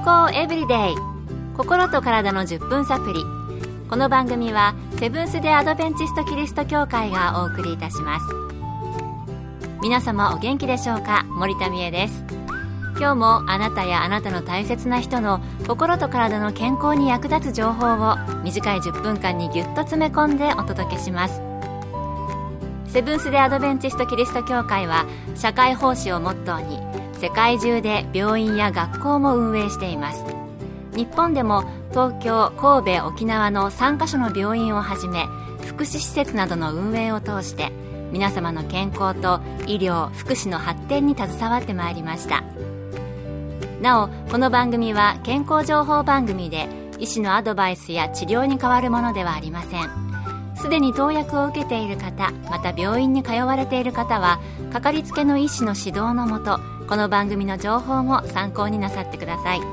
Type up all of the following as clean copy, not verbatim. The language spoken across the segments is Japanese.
康エブリデイ、心と体の10分サプリ。この番組はセブンス・デ・アドベンチスト・キリスト教会がお送りいたします。皆様お元気でしょうか。森田美恵です。今日もあなたやあなたの大切な人の心と体の健康に役立つ情報を短い10分間にぎゅっと詰め込んでお届けします。セブンス・デ・アドベンチスト・キリスト教会は社会奉仕をモットーに世界中で病院や学校も運営しています。日本でも東京、神戸、沖縄の3カ所の病院をはじめ福祉施設などの運営を通して皆様の健康と医療・福祉の発展に携わってまいりました。なお、この番組は健康情報番組で医師のアドバイスや治療に代わるものではありません。すでに投薬を受けている方、また病院に通われている方はかかりつけの医師の指導のもと、この番組の情報も参考になさってください。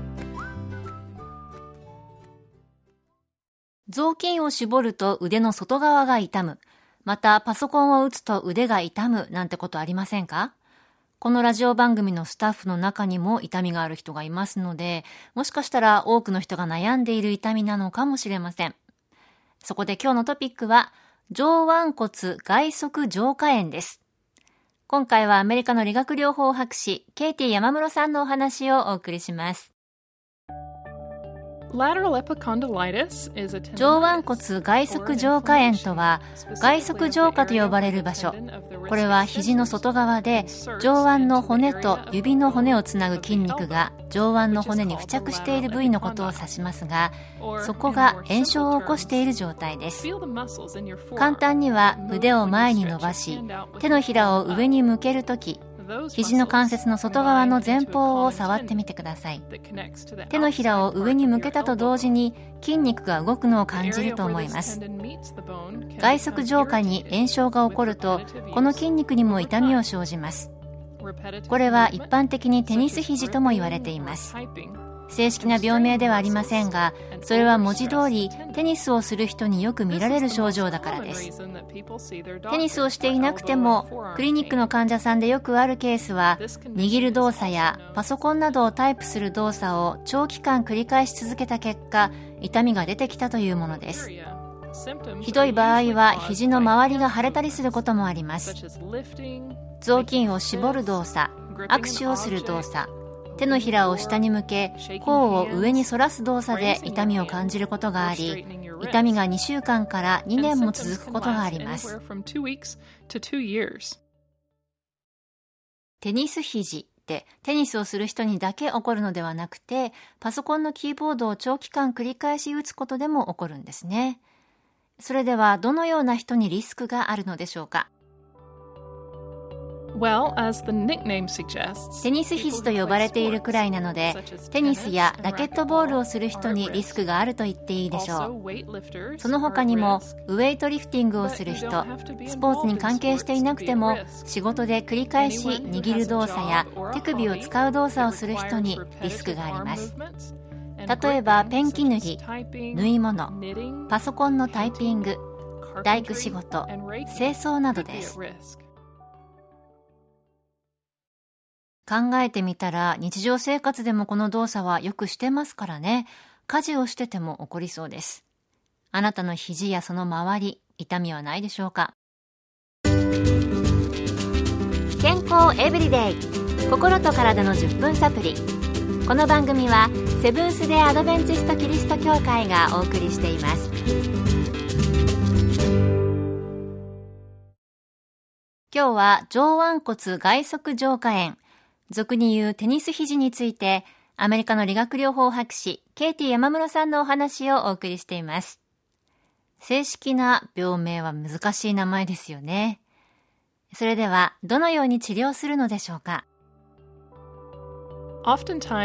雑巾を絞ると腕の外側が痛む、またパソコンを打つと腕が痛むなんてことありませんか？このラジオ番組のスタッフの中にも痛みがある人がいますので、もしかしたら多くの人が悩んでいる痛みなのかもしれません。そこで今日のトピックは上腕骨外側上下炎です。今回はアメリカの理学療法博士ケイティ山室さんのお話をお送りします。上腕骨外側上下炎とは、外側上下と呼ばれる場所、これは肘の外側で上腕の骨と指の骨をつなぐ筋肉が上腕の骨に付着している部位のことを指しますが、そこが炎症を起こしている状態です。簡単には腕を前に伸ばし、手のひらを上に向けるとき、肘の関節の外側の前方を触ってみてください。手のひらを上に向けたと同時に筋肉が動くのを感じると思います。外側上下に炎症が起こると、この筋肉にも痛みを生じます。これは一般的にテニス肘とも言われています。正式な病名ではありませんが、それは文字通りテニスをする人によく見られる症状だからです。テニスをしていなくてもクリニックの患者さんでよくあるケースは、握る動作やパソコンなどをタイプする動作を長期間繰り返し続けた結果、痛みが出てきたというものです。ひどい場合は肘の周りが腫れたりすることもあります。雑巾を絞る動作、握手をする動作、手のひらを下に向け甲を上に反らす動作で痛みを感じることがあり、痛みが2週間から2年も続くことがあります。テニス肘ってテニスをする人にだけ起こるのではなくて、パソコンのキーボードを長期間繰り返し打つことでも起こるんですね。それではどのような人にリスクがあるのでしょうか。テニス肘と呼ばれているくらいなので、テニスやラケットボールをする人にリスクがあると言っていいでしょう。その他にもウェイトリフティングをする人、スポーツに関係していなくても仕事で繰り返し握る動作や手首を使う動作をする人にリスクがあります。例えばペンキ塗り、縫い物、パソコンのタイピング、大工仕事、清掃などです。考えてみたら、日常生活でもこの動作はよくしてますからね。家事をしてても起こりそうです。あなたの肘やその周り、痛みはないでしょうか。健康エブリデイ、心と体の10分サプリ。この番組はセブンス・デ・アドベンチスト・キリスト教会がお送りしています。今日は上腕骨外側上下炎、俗に言うテニス肘について、アメリカの理学療法博士ケイティ山室さんのお話をお送りしています。正式な病名は難しい名前ですよね。それではどのように治療するのでしょうか。し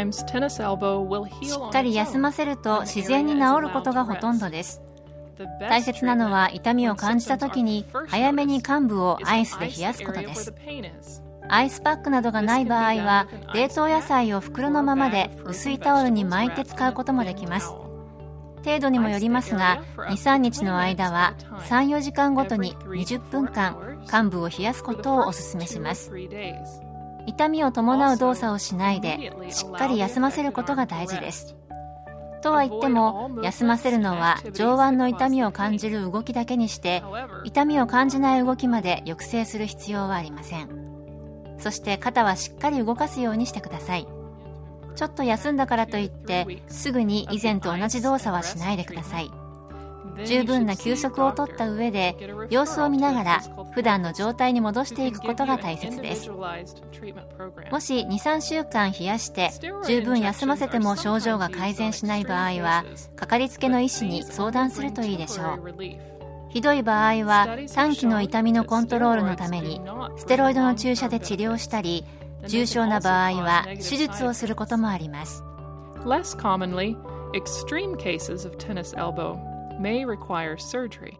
っかり休ませると自然に治ることがほとんどです。大切なのは痛みを感じた時に早めに患部をアイスで冷やすことです。アイスパックなどがない場合は冷凍野菜を袋のままで薄いタオルに巻いて使うこともできます。程度にもよりますが 2,3 日の間は 3,4 時間ごとに20分間患部を冷やすことをお勧めします。 痛みを伴う動作をしないでしっかり休ませることが大事です。とは言っても、休ませるのは上腕の痛みを感じる動きだけにして、痛みを感じない動きまで抑制する必要はありません。そして肩はしっかり動かすようにしてください。ちょっと休んだからといってすぐに以前と同じ動作はしないでください。十分な休息をとった上で様子を見ながら普段の状態に戻していくことが大切です。もし 2,3 週間冷やして十分休ませても症状が改善しない場合は、かかりつけの医師に相談するといいでしょう。ひどい場合は短期の痛みのコントロールのためにステロイドの注射で治療したり、重症な場合は手術をすることもあります。 Less commonly, extreme cases of tennis elbow may require surgery.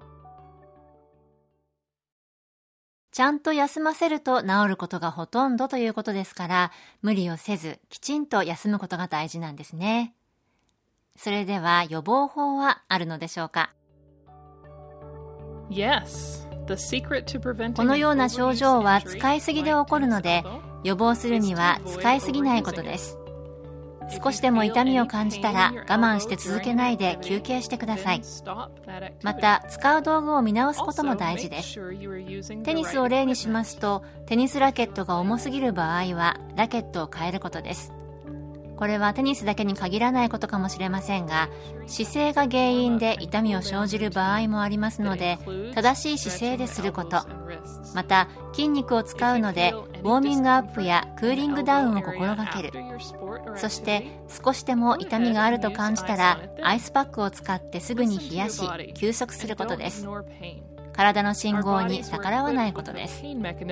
ちゃんと休ませると治ることがほとんどということですから、無理をせずきちんと休むことが大事なんですね。それでは予防法はあるのでしょうか。 Yes, the secret to preventing このような症状は使いすぎで起こるので、予防するには使いすぎないことです。少しでも痛みを感じたら我慢して続けないで休憩してください。また使う道具を見直すことも大事です。テニスを例にしますと、テニスラケットが重すぎる場合はラケットを変えることです。これはテニスだけに限らないことかもしれませんが、姿勢が原因で痛みを生じる場合もありますので、正しい姿勢ですること、また筋肉を使うのでウォーミングアップやクーリングダウンを心がける。そして少しでも痛みがあると感じたらアイスパックを使ってすぐに冷やし休息することです。体の信号に逆らわないことです。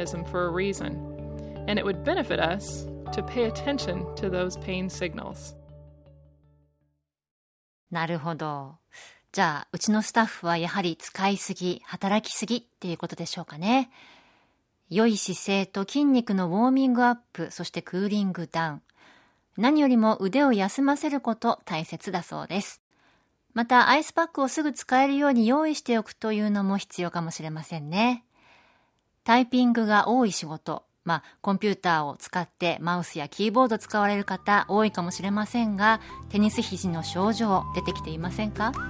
なるほど。じゃあうちのスタッフはやはり使いすぎ、働きすぎっていうことでしょうかね。良い姿勢と筋肉のウォーミングアップ、そしてクーリングダウン、何よりも腕を休ませること大切だそうです。またアイスパックをすぐ使えるように用意しておくというのも必要かもしれませんね。タイピングが多い仕事、コンピューターを使ってマウスやキーボード使われる方多いかもしれませんが、テニス肘の症状出てきていませんか？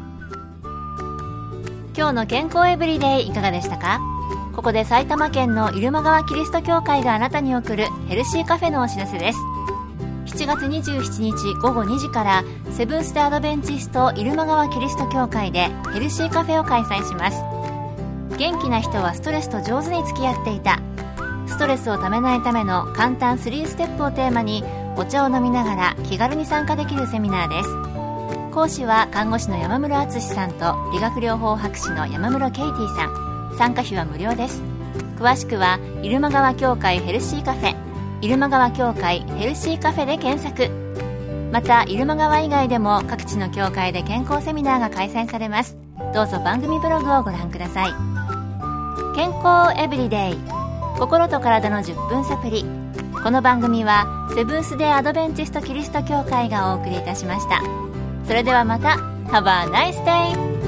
今日の健康エブリデイいかがでしたか？ここで埼玉県の入間川キリスト教会があなたに送るヘルシーカフェのお知らせです。7月27日午後2時からセブンス・デ・アドベンチスト入間川キリスト教会でヘルシーカフェを開催します。元気な人はストレスと上手に付き合っていた、ストレスをためないための簡単3ステップをテーマにお茶を飲みながら気軽に参加できるセミナーです。講師は看護師の山室敦さんと理学療法博士の山室ケイティさん。参加費は無料です。詳しくは入間川教会ヘルシーカフェ、入間川教会ヘルシーカフェで検索。また入間川以外でも各地の教会で健康セミナーが開催されます。どうぞ番組ブログをご覧ください。健康エブリデイ、心と体の10分サプリ。この番組はセブンス・デ・アドベンチスト・キリスト教会がお送りいたしました。それではまた。Have a nice day!